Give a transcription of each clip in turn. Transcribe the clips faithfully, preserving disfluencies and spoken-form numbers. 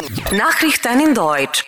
Nachrichten in Deutsch.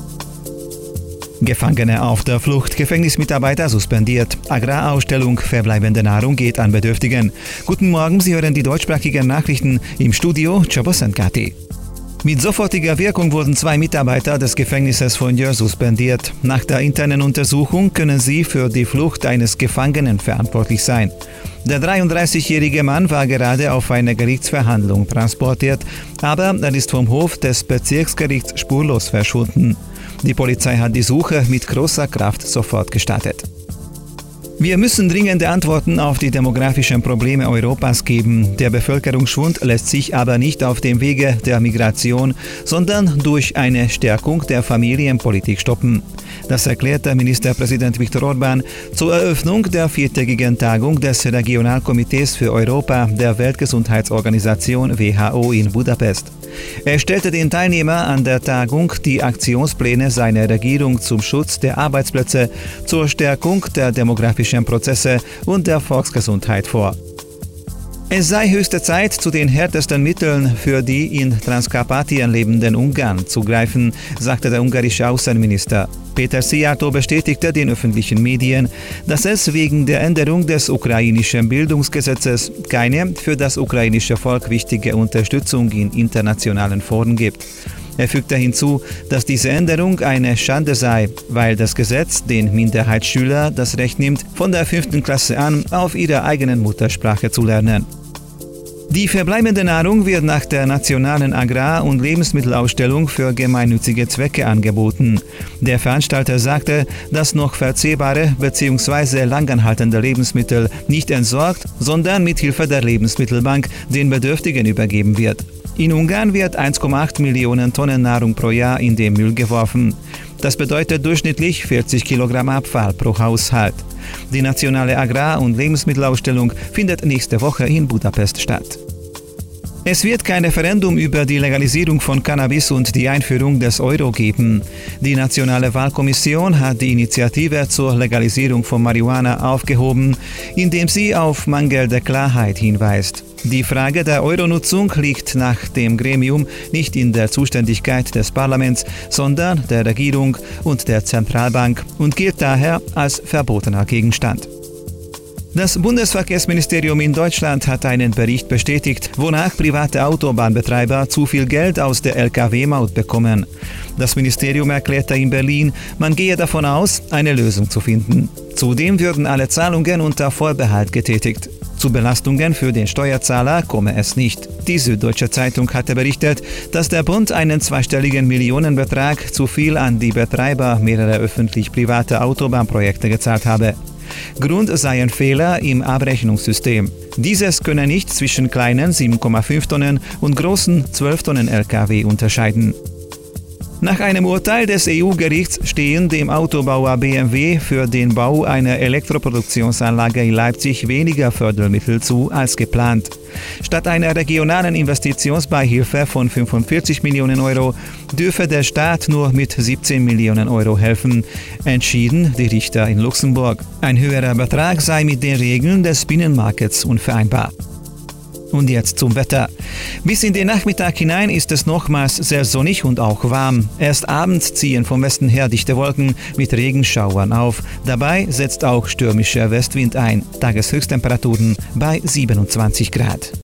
Gefangene auf der Flucht, Gefängnismitarbeiter suspendiert. Agrarausstellung verbleibende Nahrung geht an Bedürftigen. Guten Morgen, Sie hören die deutschsprachigen Nachrichten im Studio Csabosankati. Mit sofortiger Wirkung wurden zwei Mitarbeiter des Gefängnisses von Győr suspendiert. Nach der internen Untersuchung können sie für die Flucht eines Gefangenen verantwortlich sein. Der dreiunddreißigjährige Mann war gerade auf eine Gerichtsverhandlung transportiert, aber er ist vom Hof des Bezirksgerichts spurlos verschwunden. Die Polizei hat die Suche mit großer Kraft sofort gestartet. Wir müssen dringende Antworten auf die demografischen Probleme Europas geben. Der Bevölkerungsschwund lässt sich aber nicht auf dem Wege der Migration, sondern durch eine Stärkung der Familienpolitik stoppen. Das erklärte Ministerpräsident Viktor Orbán zur Eröffnung der viertägigen Tagung des Regionalkomitees für Europa der Weltgesundheitsorganisation W H O in Budapest. Er stellte den Teilnehmern an der Tagung die Aktionspläne seiner Regierung zum Schutz der Arbeitsplätze, zur Stärkung der demografischen Prozesse und der Volksgesundheit vor. Es sei höchste Zeit, zu den härtesten Mitteln für die in Transkarpatien lebenden Ungarn zu greifen, sagte der ungarische Außenminister. Péter Szijjártó bestätigte den öffentlichen Medien, dass es wegen der Änderung des ukrainischen Bildungsgesetzes keine für das ukrainische Volk wichtige Unterstützung in internationalen Foren gibt. Er fügte hinzu, dass diese Änderung eine Schande sei, weil das Gesetz den Minderheitsschülern das Recht nimmt, von der fünften Klasse an auf ihrer eigenen Muttersprache zu lernen. Die verbleibende Nahrung wird nach der nationalen Agrar- und Lebensmittelausstellung für gemeinnützige Zwecke angeboten. Der Veranstalter sagte, dass noch verzehrbare bzw. langanhaltende Lebensmittel nicht entsorgt, sondern mit Hilfe der Lebensmittelbank den Bedürftigen übergeben wird. In Ungarn wird eins Komma acht Millionen Tonnen Nahrung pro Jahr in den Müll geworfen. Das bedeutet durchschnittlich vierzig Kilogramm Abfall pro Haushalt. Die nationale Agrar- und Lebensmittelausstellung findet nächste Woche in Budapest statt. Es wird kein Referendum über die Legalisierung von Cannabis und die Einführung des Euro geben. Die Nationale Wahlkommission hat die Initiative zur Legalisierung von Marihuana aufgehoben, indem sie auf mangelnde Klarheit hinweist. Die Frage der Euro-Nutzung liegt nach dem Gremium nicht in der Zuständigkeit des Parlaments, sondern der Regierung und der Zentralbank und gilt daher als verbotener Gegenstand. Das Bundesverkehrsministerium in Deutschland hat einen Bericht bestätigt, wonach private Autobahnbetreiber zu viel Geld aus der L K W-Maut bekommen. Das Ministerium erklärte in Berlin, man gehe davon aus, eine Lösung zu finden. Zudem würden alle Zahlungen unter Vorbehalt getätigt. Zu Belastungen für den Steuerzahler komme es nicht. Die Süddeutsche Zeitung hatte berichtet, dass der Bund einen zweistelligen Millionenbetrag zu viel an die Betreiber mehrerer öffentlich-privater Autobahnprojekte gezahlt habe. Grund sei ein Fehler im Abrechnungssystem. Dieses könne nicht zwischen kleinen sieben Komma fünf Tonnen und großen zwölf Tonnen L K W unterscheiden. Nach einem Urteil des E U-Gerichts stehen dem Autobauer B M W für den Bau einer Elektroproduktionsanlage in Leipzig weniger Fördermittel zu als geplant. Statt einer regionalen Investitionsbeihilfe von fünfundvierzig Millionen Euro dürfe der Staat nur mit siebzehn Millionen Euro helfen, entschieden die Richter in Luxemburg. Ein höherer Betrag sei mit den Regeln des Binnenmarkts unvereinbar. Und jetzt zum Wetter. Bis in den Nachmittag hinein ist es nochmals sehr sonnig und auch warm. Erst abends ziehen vom Westen her dichte Wolken mit Regenschauern auf. Dabei setzt auch stürmischer Westwind ein. Tageshöchsttemperaturen bei siebenundzwanzig Grad.